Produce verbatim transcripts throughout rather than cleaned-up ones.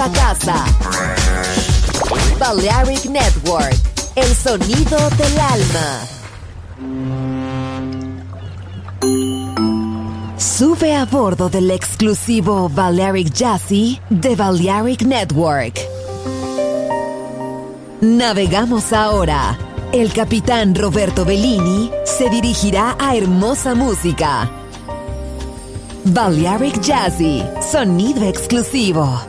a casa. Balearic Network, el sonido del alma. Sube a bordo del exclusivo Balearic Jazzy de Balearic Network. Navegamos ahora. El capitán Roberto Bellini se dirigirá a hermosa música. Balearic Jazzy, sonido exclusivo.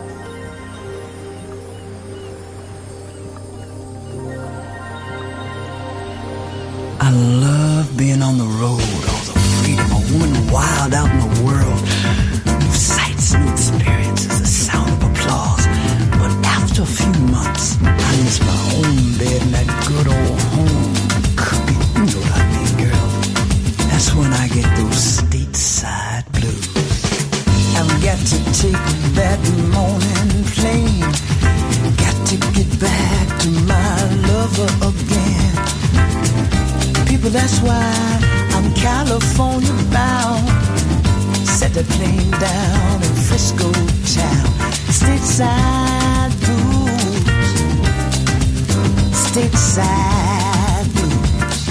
I love being on the road, all the freedom, a woman wild out in the world. New sights, new experiences, the sound of applause. But after a few months, I miss my own bed and that good old home cooking. You know what I mean, girl? That's when I get those stateside blues. I've got to take that morning plane. Got to get back to my lover again. People, that's why I'm California bound. Set the plane down in Frisco town. Stateside blues. Stateside blues.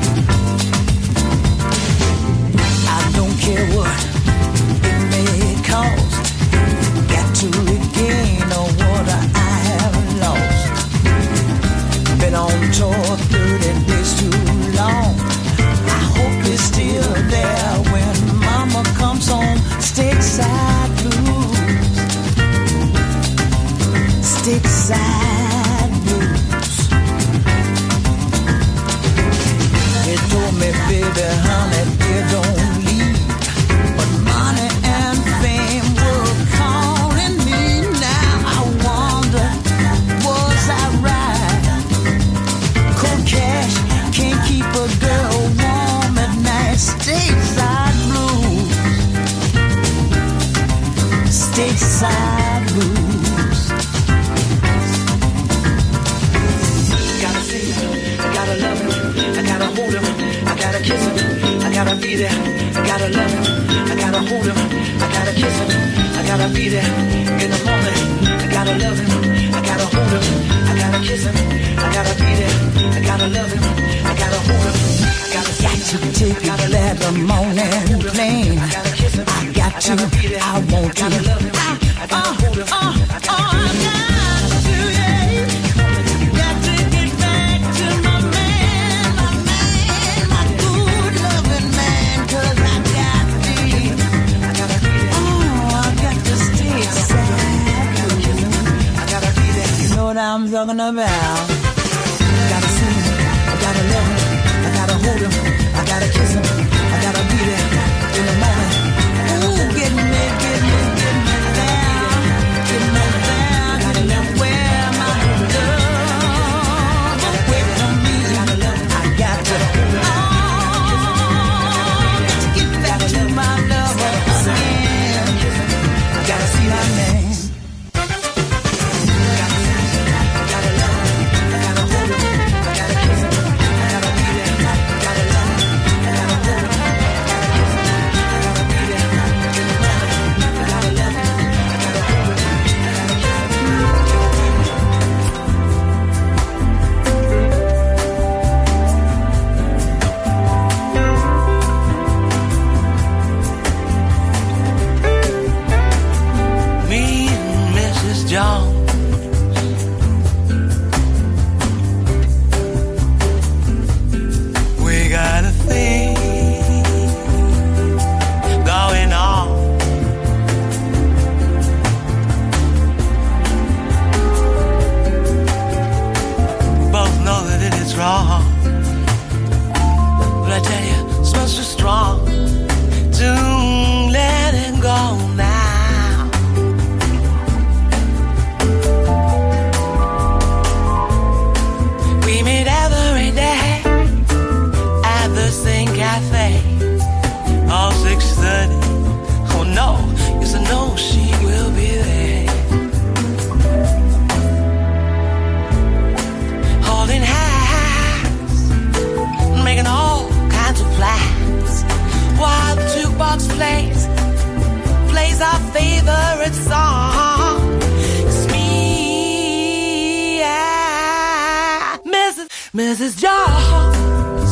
I don't care what it may cost. Got to regain what I have lost. Been on tour thirty days too long. I hope you're still there when mama comes home. Stateside blues. Stateside blues. They told me, baby, honey, they don't leave. But money and fame were calling me. Now I wonder, was I right? Cold cash can't keep a girl warm at night. Stateside blues. Stateside blues. Gotta see him, I gotta love him, I gotta hold him, I gotta kiss him, I gotta be there, I gotta love him, I gotta hold him, I gotta kiss him, I gotta be there in the morning, I gotta love him, I gotta hold him, I gotta kiss him, I gotta be there, I gotta love him, I gotta hold him, I gotta got to take it that the morning plane. I got to, I want to, I love him, I gotta hold him, I gotta be there. I'm talking about. Gotta see him, I gotta love him, I gotta hold him, I gotta kiss him, I gotta be there in the morning. Ooh, get me, get me, get me down, get me down, get me where my love away from me. I got to, oh, got to get back to my lover again. I gotta see that man. Missus Jones.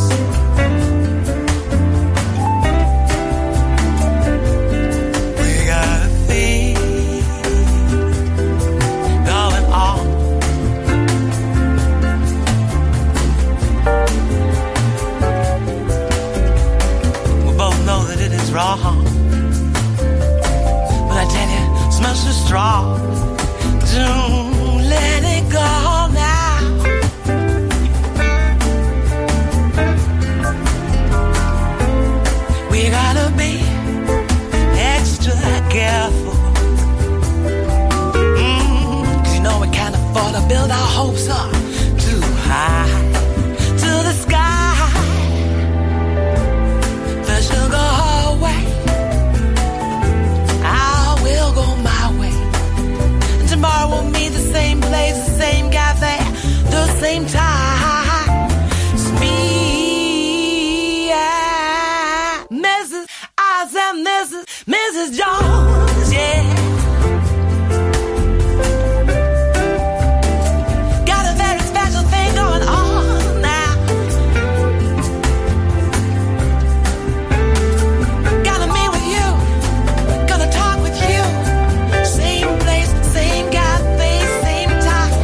We got a thing going on. We both know that it is wrong, but I tell you, it smells so strong. Don't let it go now. We gotta be extra careful. Mm, 'cause you know we can't afford to build our hopes up too high to the sky. First you'll go her way, I will go my way. And tomorrow we'll meet the same place, the same cafe, the same time. It's me, yeah. Missus I said Missus Missus Jones, yeah. Got a very special thing going on now. Gotta meet with you, gonna talk with you. Same place, same cafe, same time.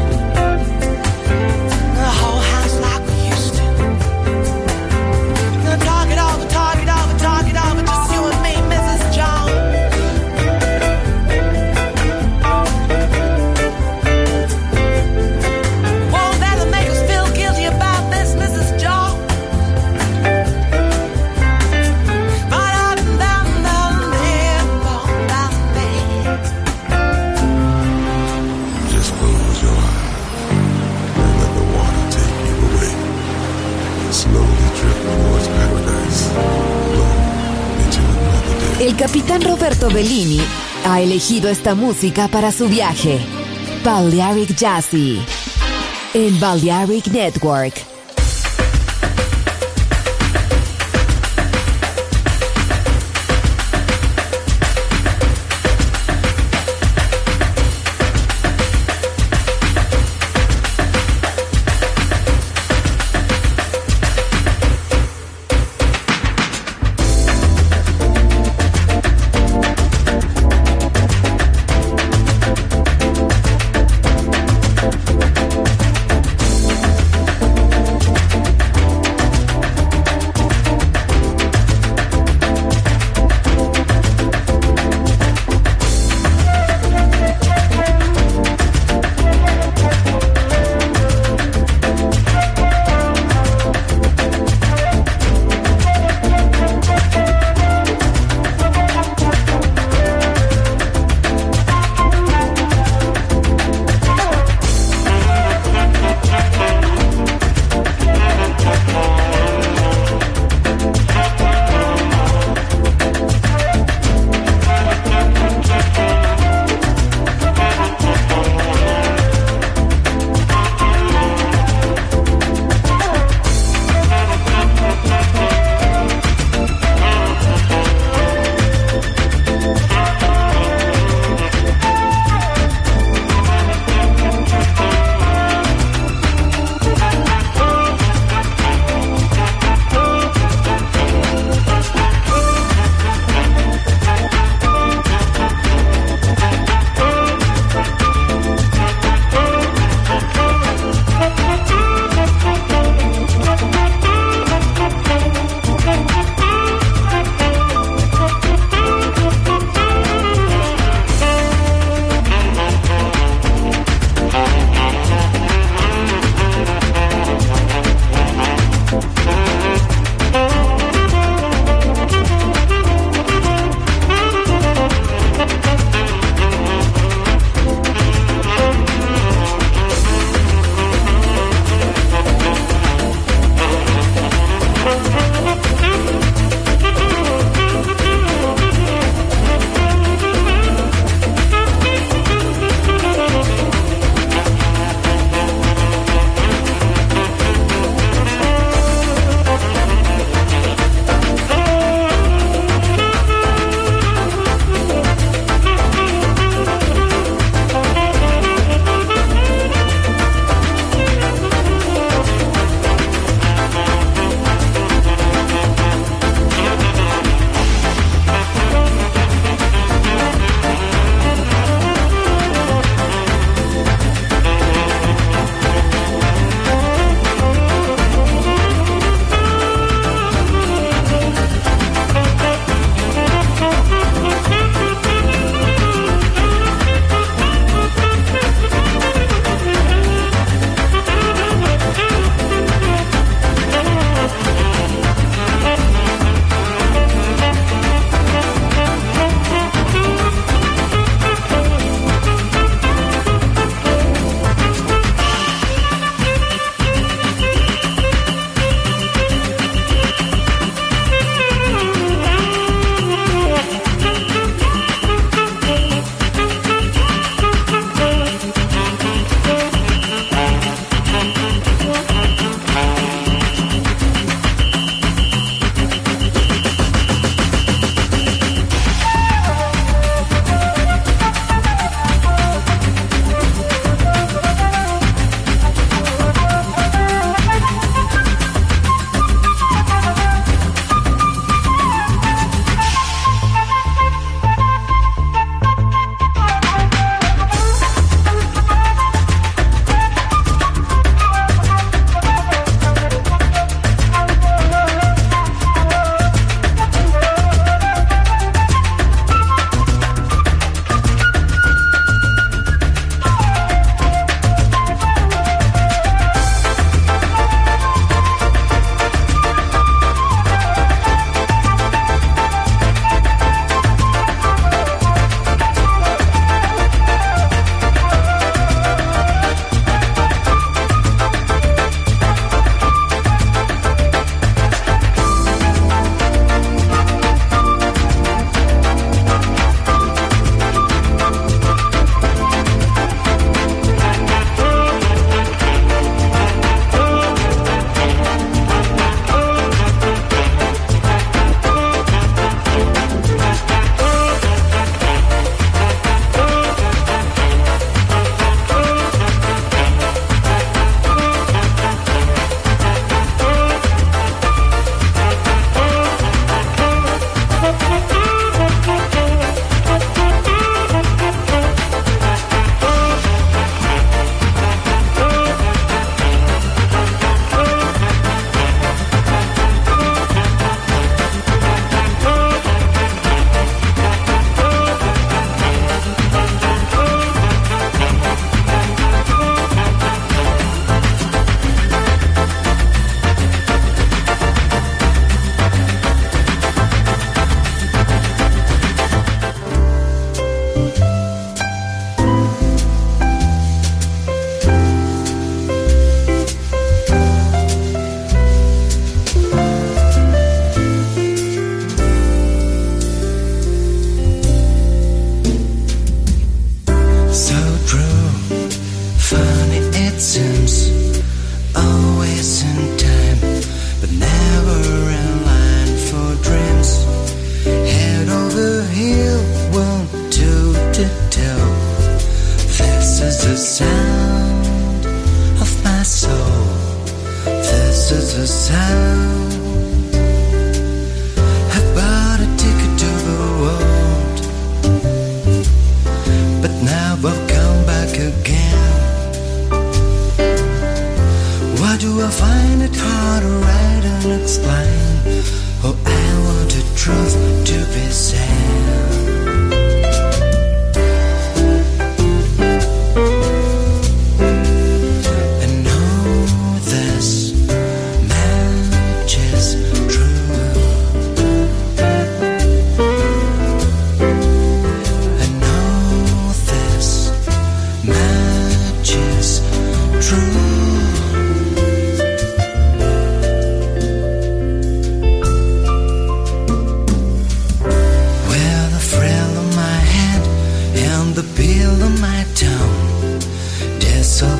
The whole house like we used to. Gonna talk it over, talk it over, talk it over. Just you and me, Missus Jones. Won't let it make us feel guilty about this, Missus Jones. But up and down, down, down, down, down. Just close your eyes and let the water take you away. Slowly drift towards paradise. Flow into another day. El capitán Roberto Bellini ha elegido esta música para su viaje. Balearic Jazzy en Balearic Network.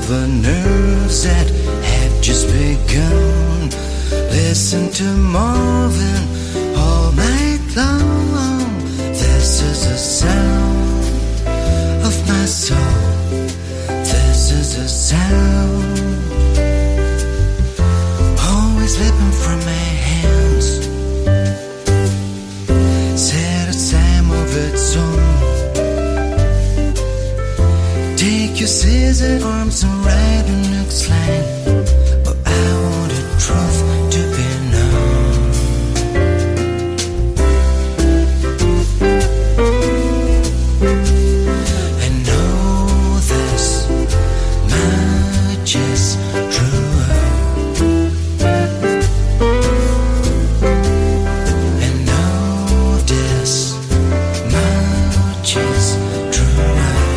over nerves that have just begun. Listen to Marvin all night long. This is the sound of my soul. This is the sound. Always slipping from my hands. Set aside, move its own. Take your scissored arms and write a next line. Oh, I want the truth to be known. I know this much is true. I know this much is true.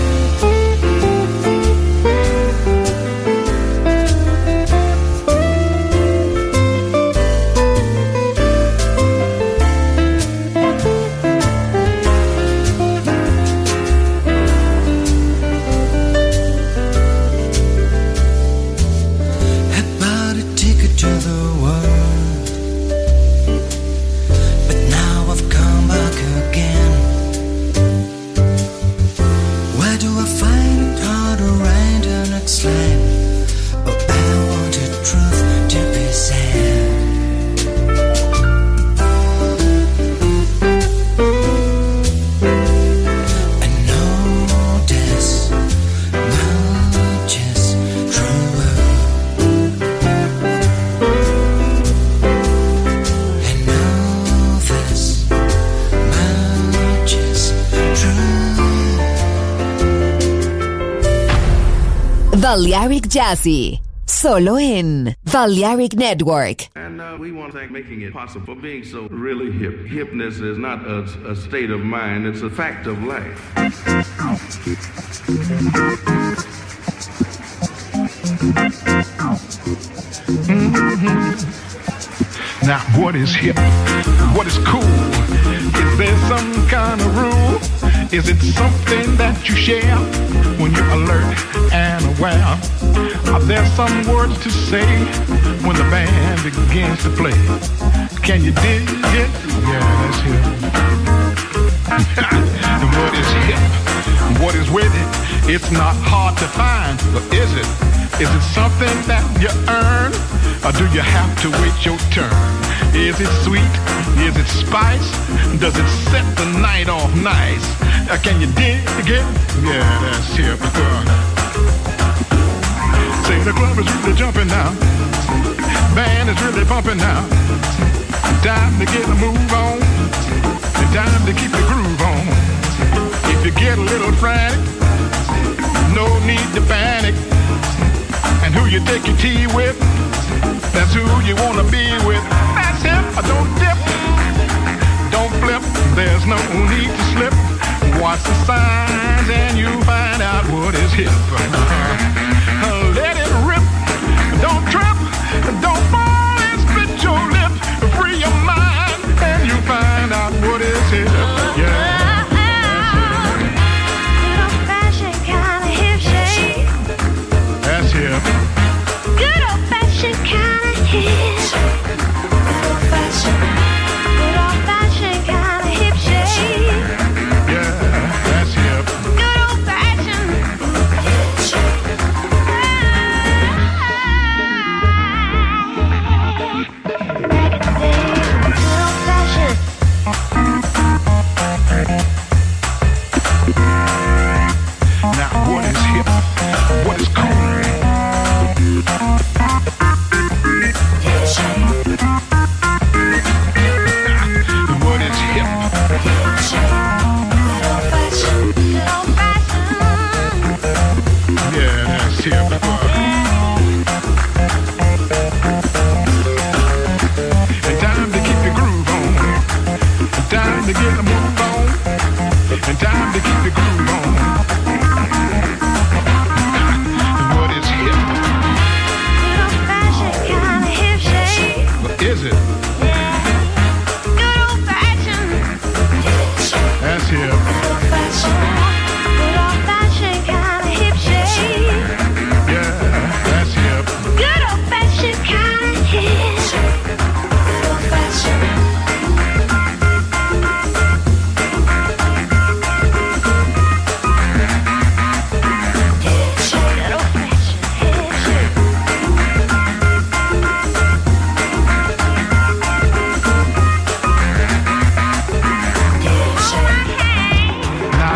Balearic Jazzy, solo en Balearic Network. And uh, we want to thank making it possible for being so really hip. Hipness is not a, a state of mind, it's a fact of life. Mm-hmm. Now, what is hip? What is cool? Is there some kind of rule? Is it something that you share when you're alert and aware? Are there some words to say when the band begins to play? Can you dig it? Yeah, that's hip. And what is hip? What is with it? It's not hard to find, but is it? Is it something that you earn? Or do you have to wait your turn? Is it sweet? Is it spice? Does it set the night off nice? Uh, can you dig it? Yeah, that's hip. Say the club is really jumping now. Band is really bumping now. Time to get a move on. And time to keep the groove on. If you get a little frantic, no need to panic. And who you take your tea with, that's who you wanna be with. That's him. Don't dip, don't flip. There's no need to slip. Watch the signs and you find out what is hip. Let it rip. Don't trip. Don't fall and split your lip. Free your mind and you find out what is hip. Yeah. That's hip. Good old fashioned kind of hip. Good old fashioned, good old fashioned kind of hip shade.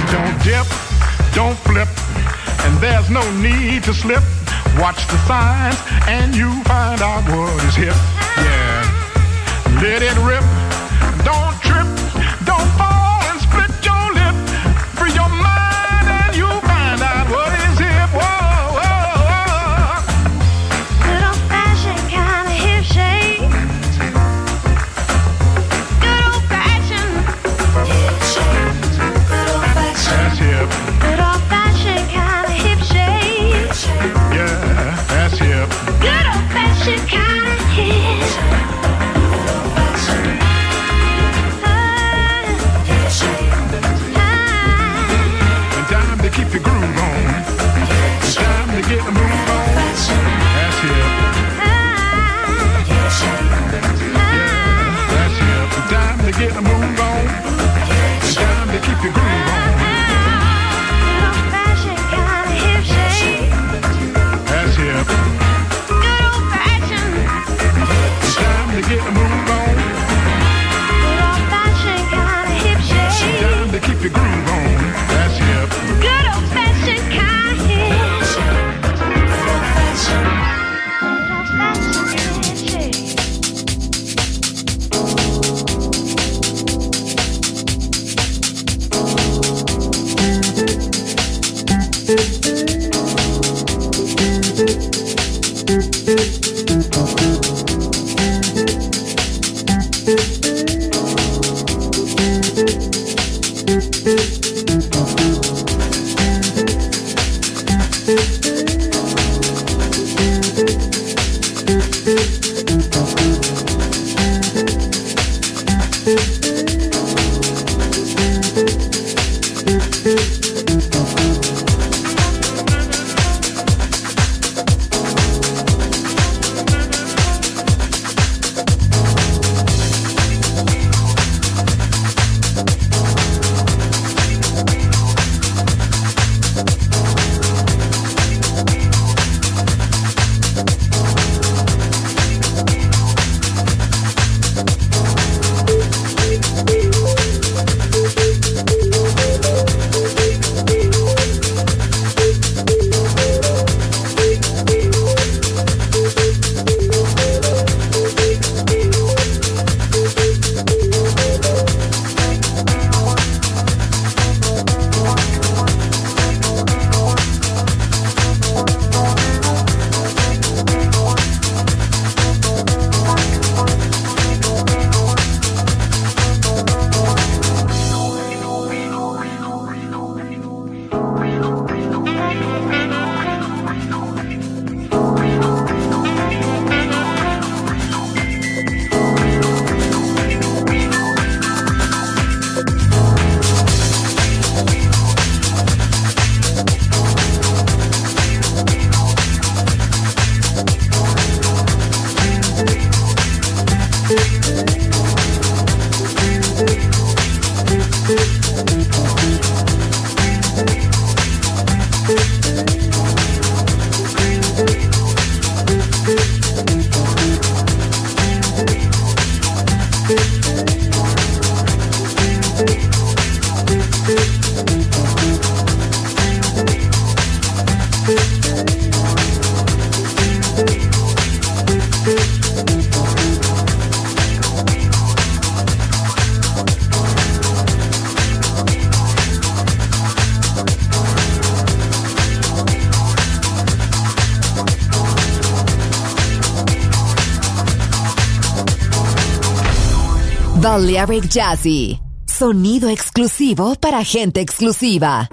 Don't dip, don't flip, and there's no need to slip. Watch the signs and you find out what is hip. Yeah, let it rip. Don't trip, don't fall and split your lip. Free your mind and you find out what is hip. Whoa, whoa, whoa. Good old-fashioned kind of hip shake. Good old-fashioned hip shake. Good old-fashioned. That's hip. Good old-fashioned kind of hip shake. Yeah, that's hip. Good old-fashioned kind of hip. Keep your groove on. It's time to get the move on. That's hip. Yeah, that's hip. It's time to get the move on. It's time to keep your groove on. That's hip. It's time to get the move on. It's time to keep your groove on. That's hip. Good old-fashioned kind of hip. Good old-fashioned. Balearic Jazzy, sonido exclusivo para gente exclusiva.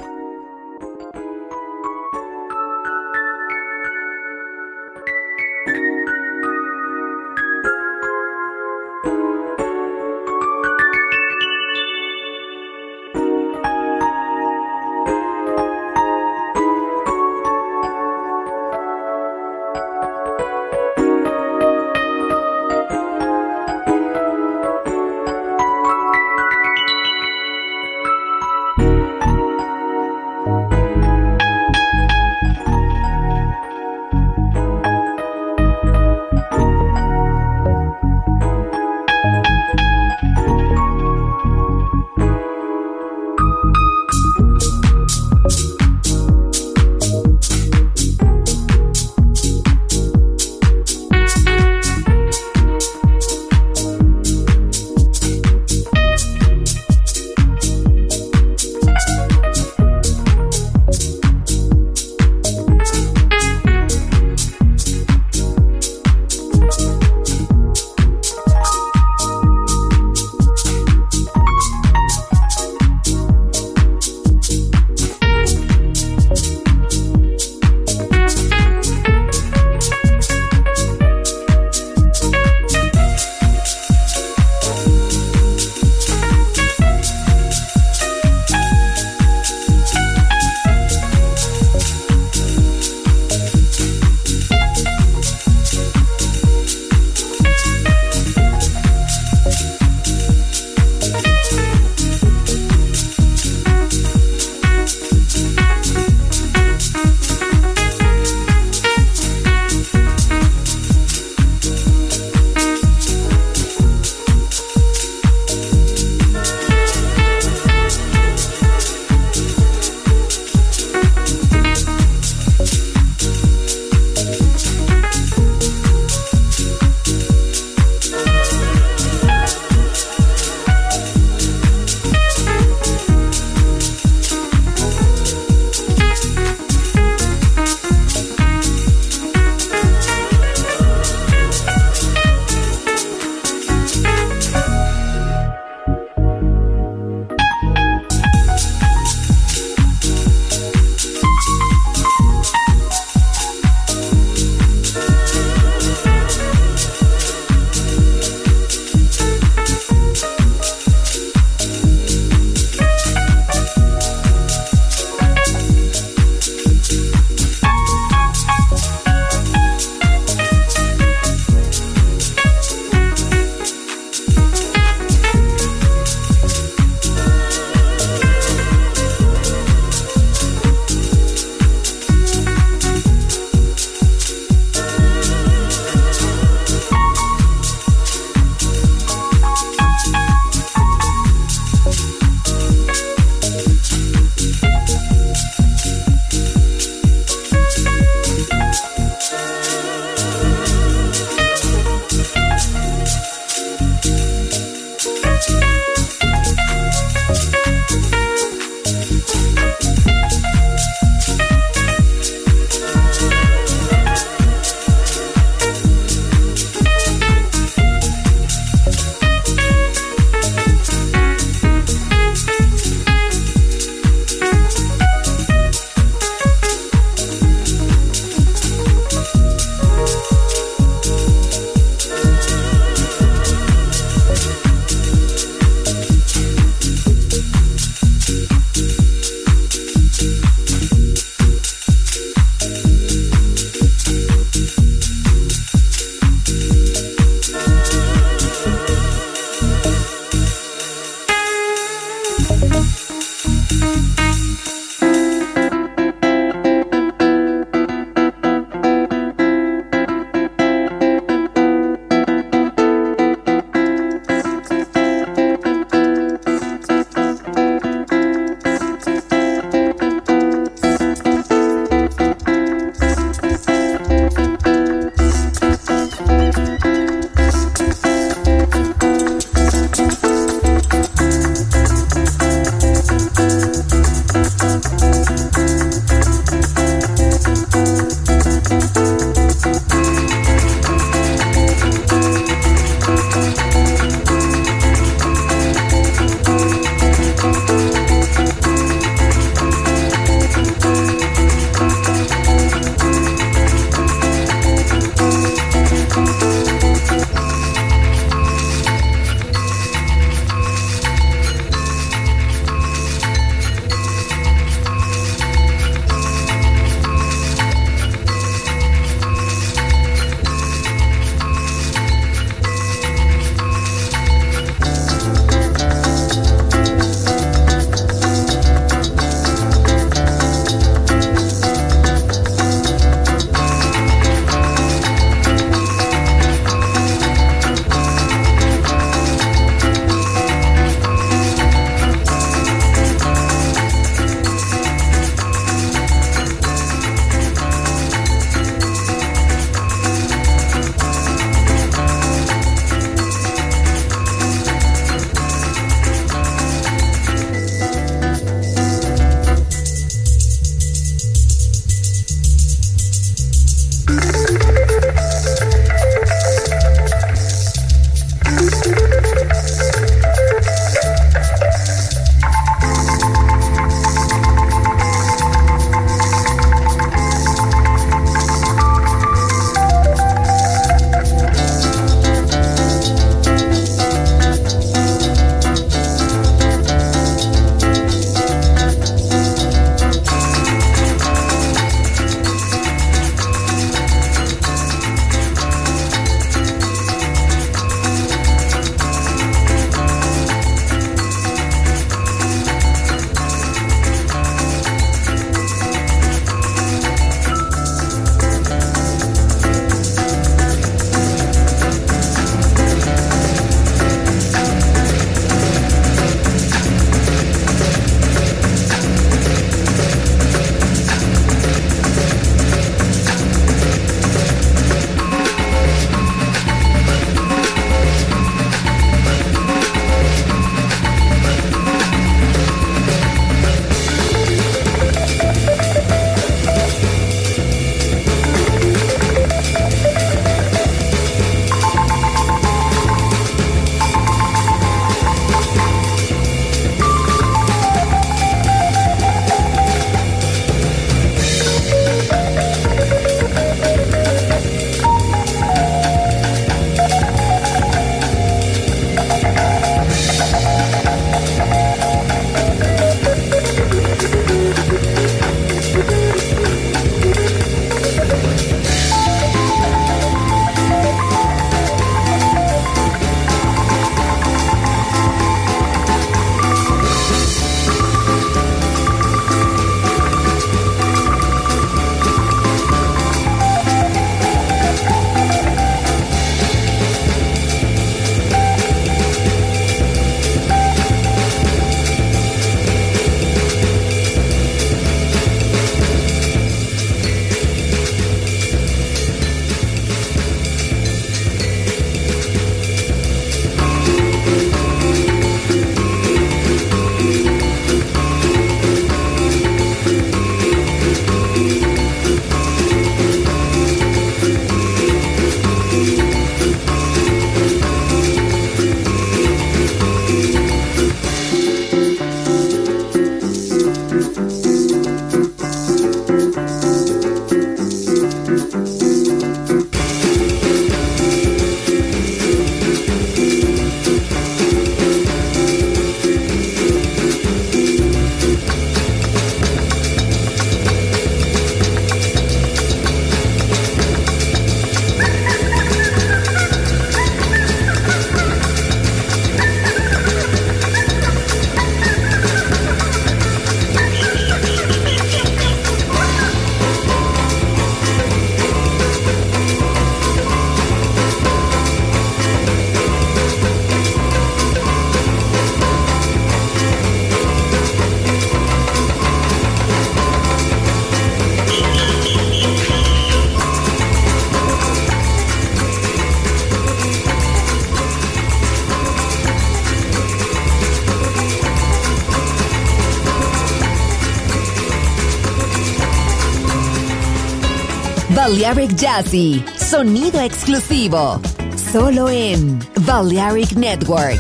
Balearic Jazzy, sonido exclusivo, solo en Balearic Network.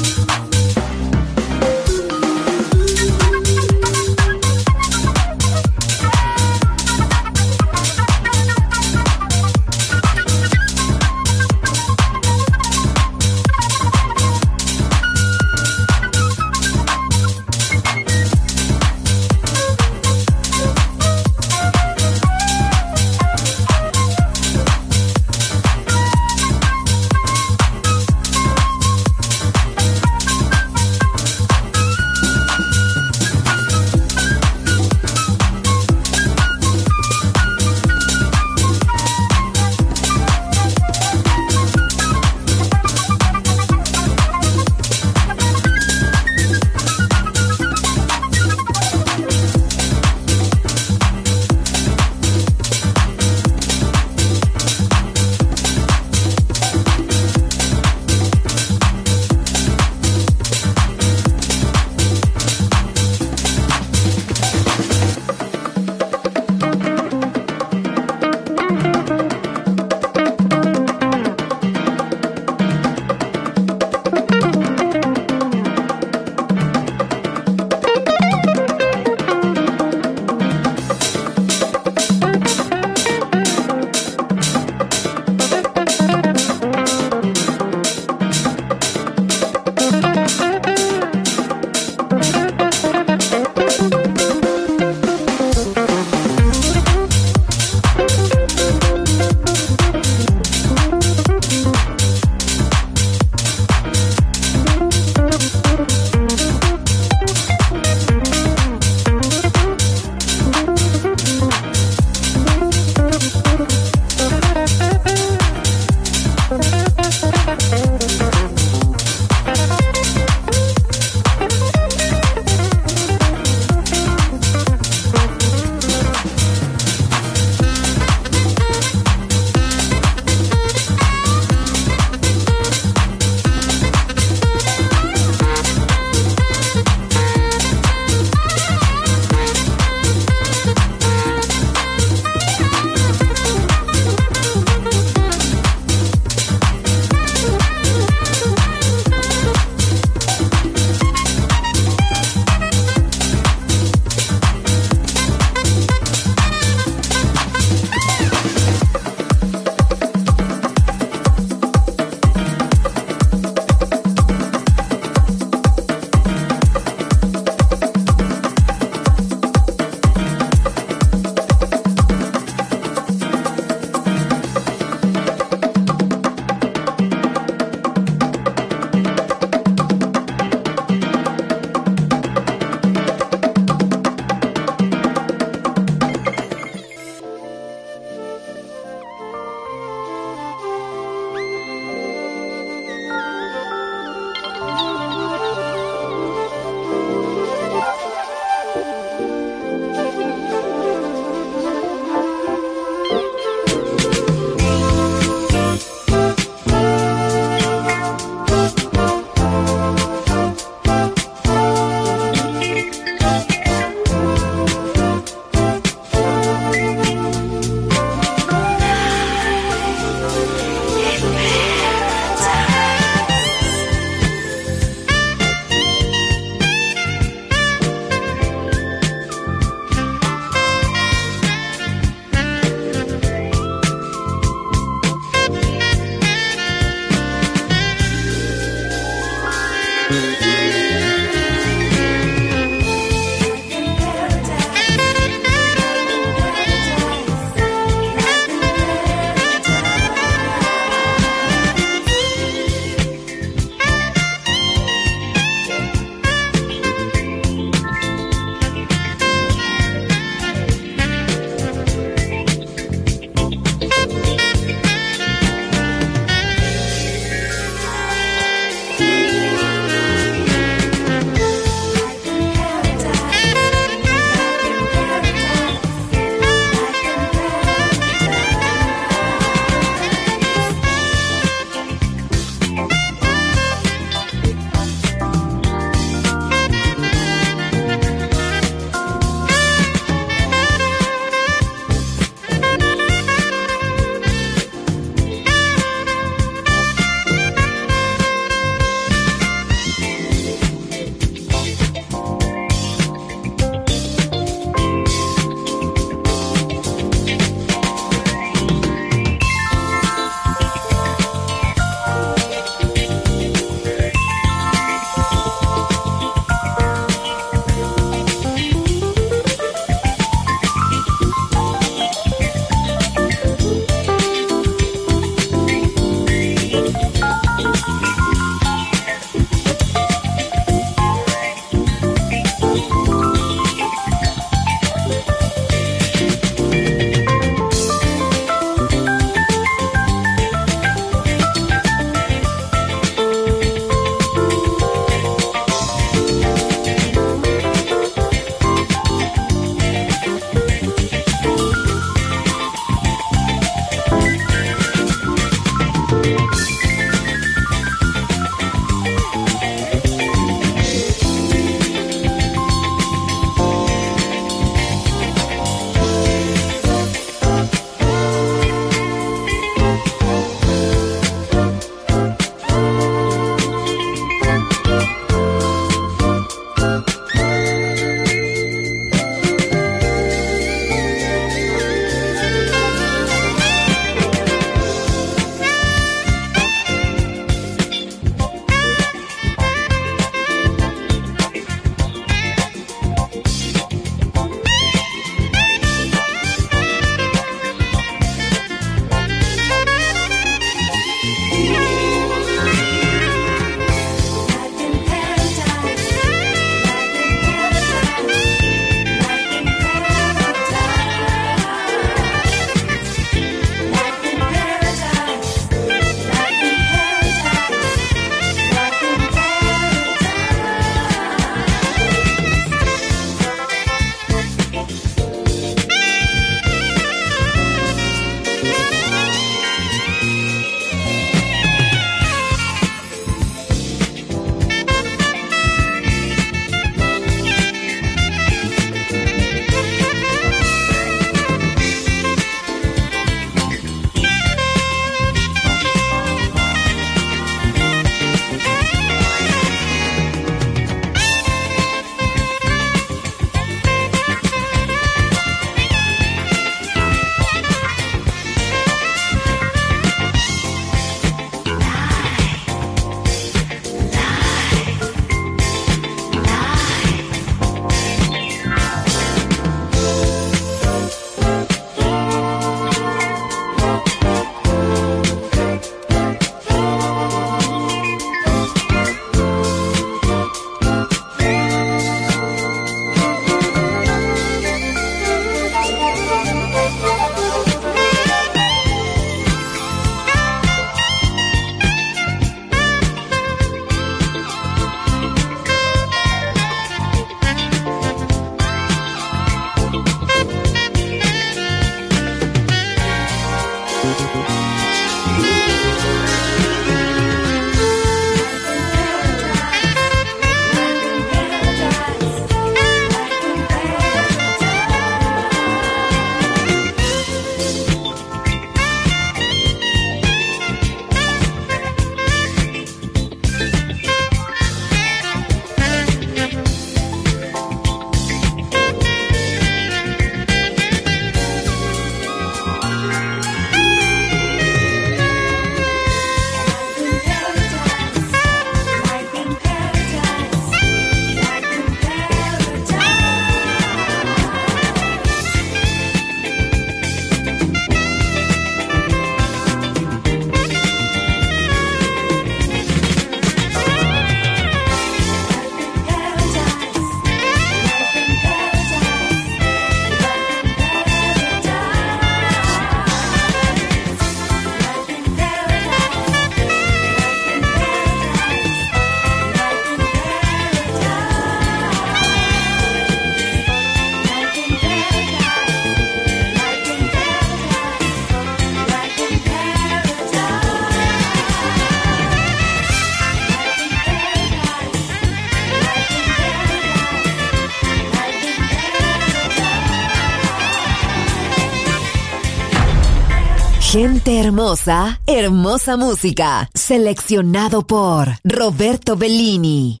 Gente hermosa, hermosa música. Seleccionado por Roberto Bellini.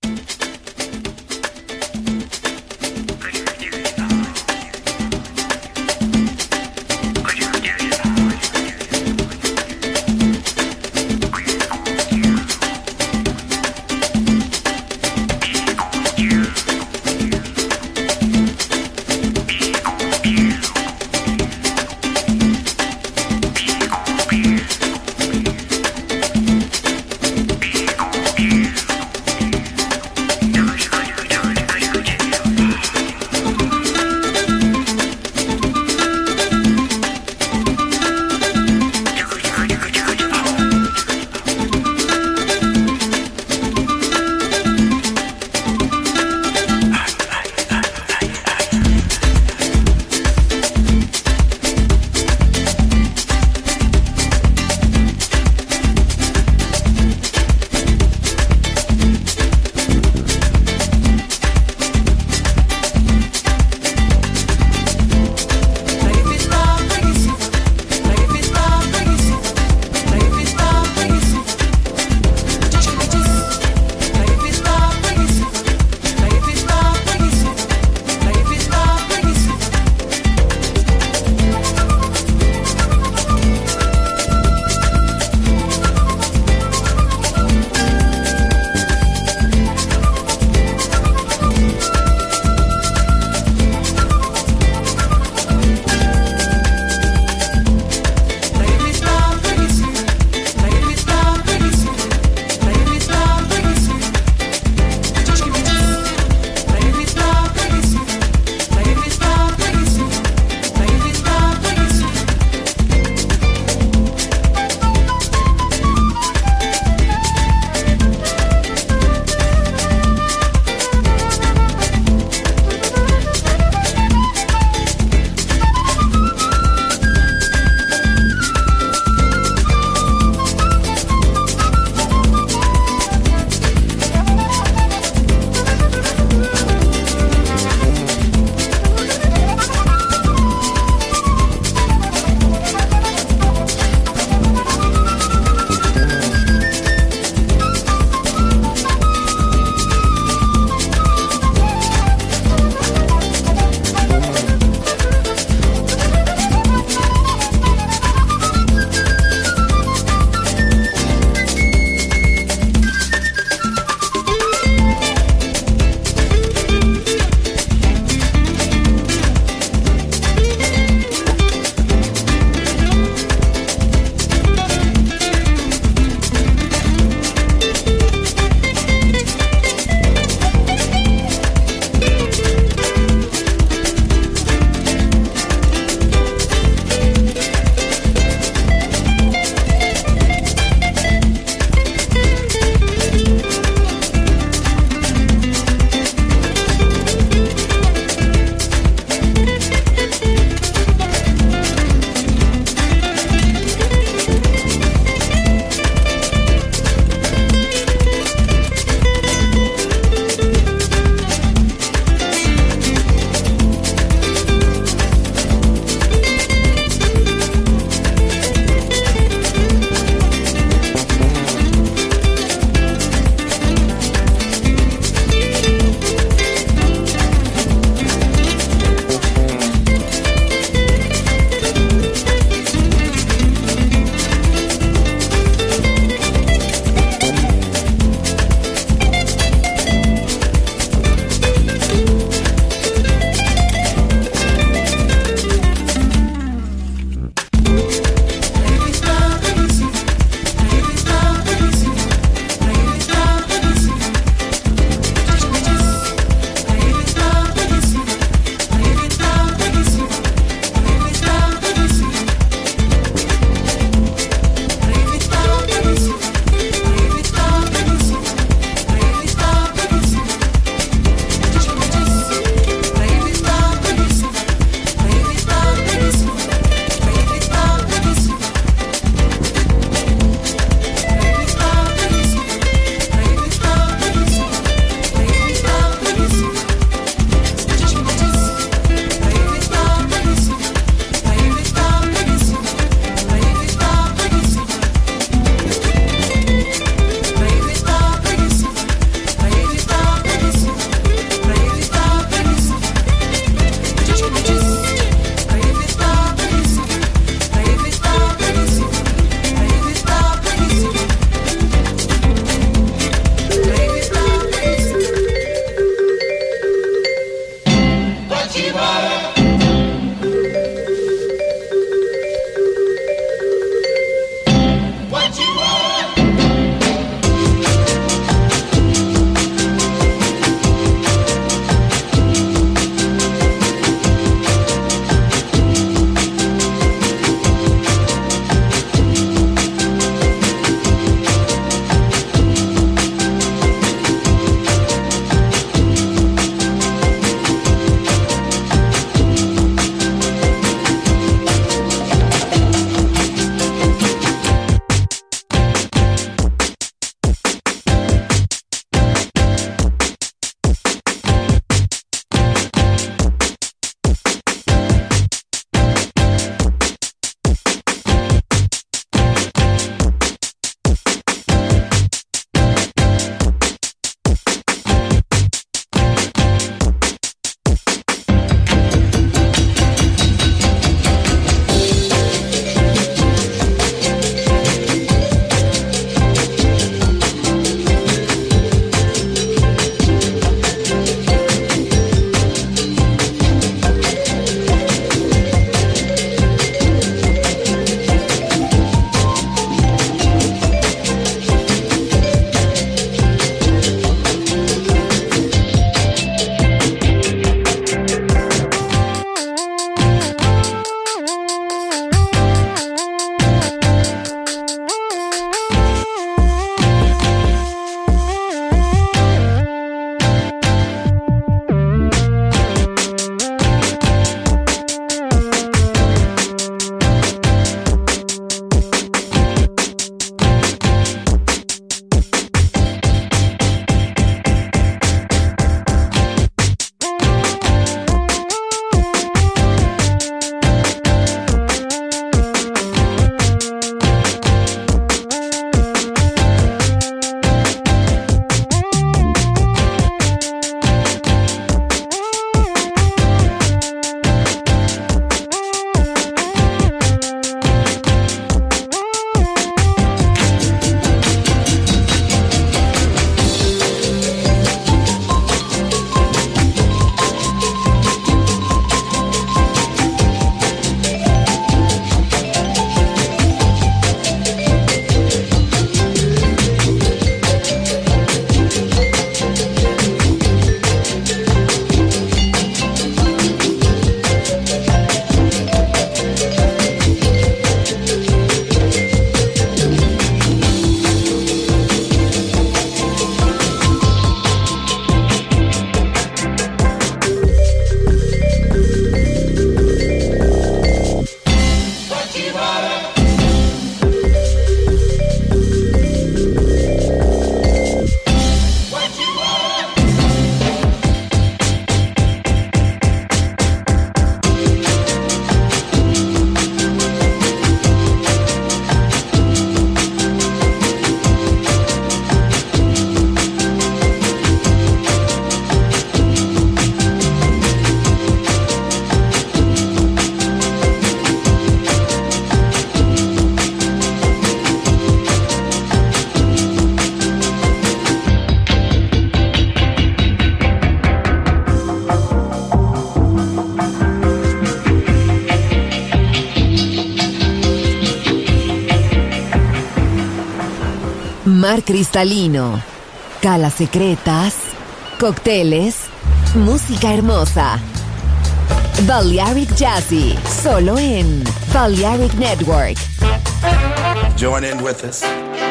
mar cristalino, calas secretas, cócteles, música hermosa. Balearic Jazzy, solo en Balearic Network. Join in with us.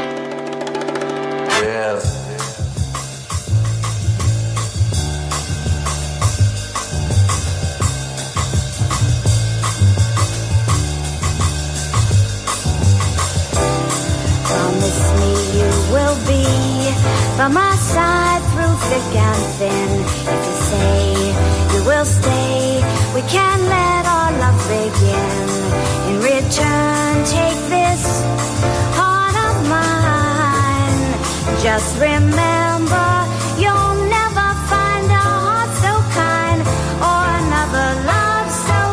Yes. Promise me you will be by my side through thick and thin. If you say you will stay, we can let our love begin. In return, take this heart of mine. Just remember, you'll never find a heart so kind or another love so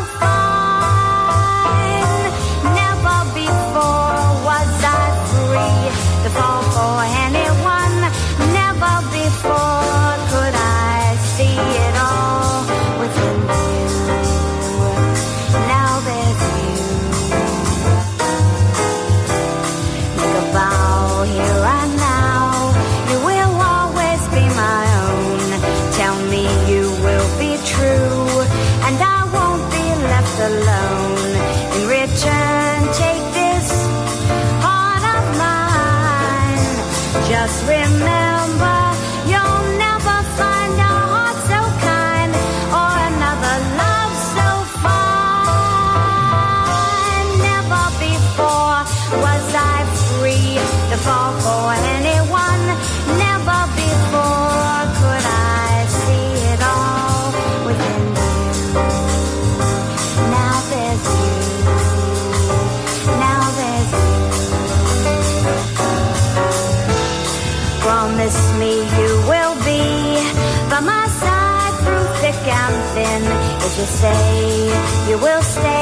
fine. Never before was I free to fall for anyone. Never before could I see it all within you. Now there's you. Make a vow here and now. You will always be my own. Tell me you will be true, and I won't be left alone. In return, take this heart of mine. Just remember, you'll never find a heart so kind or another love so fine. Never before was I free to fall for anyone. Never before could I see it all within you. Now there's you. Now there's you. Promise me you will be by my side through thick and thin. If you say you will stay,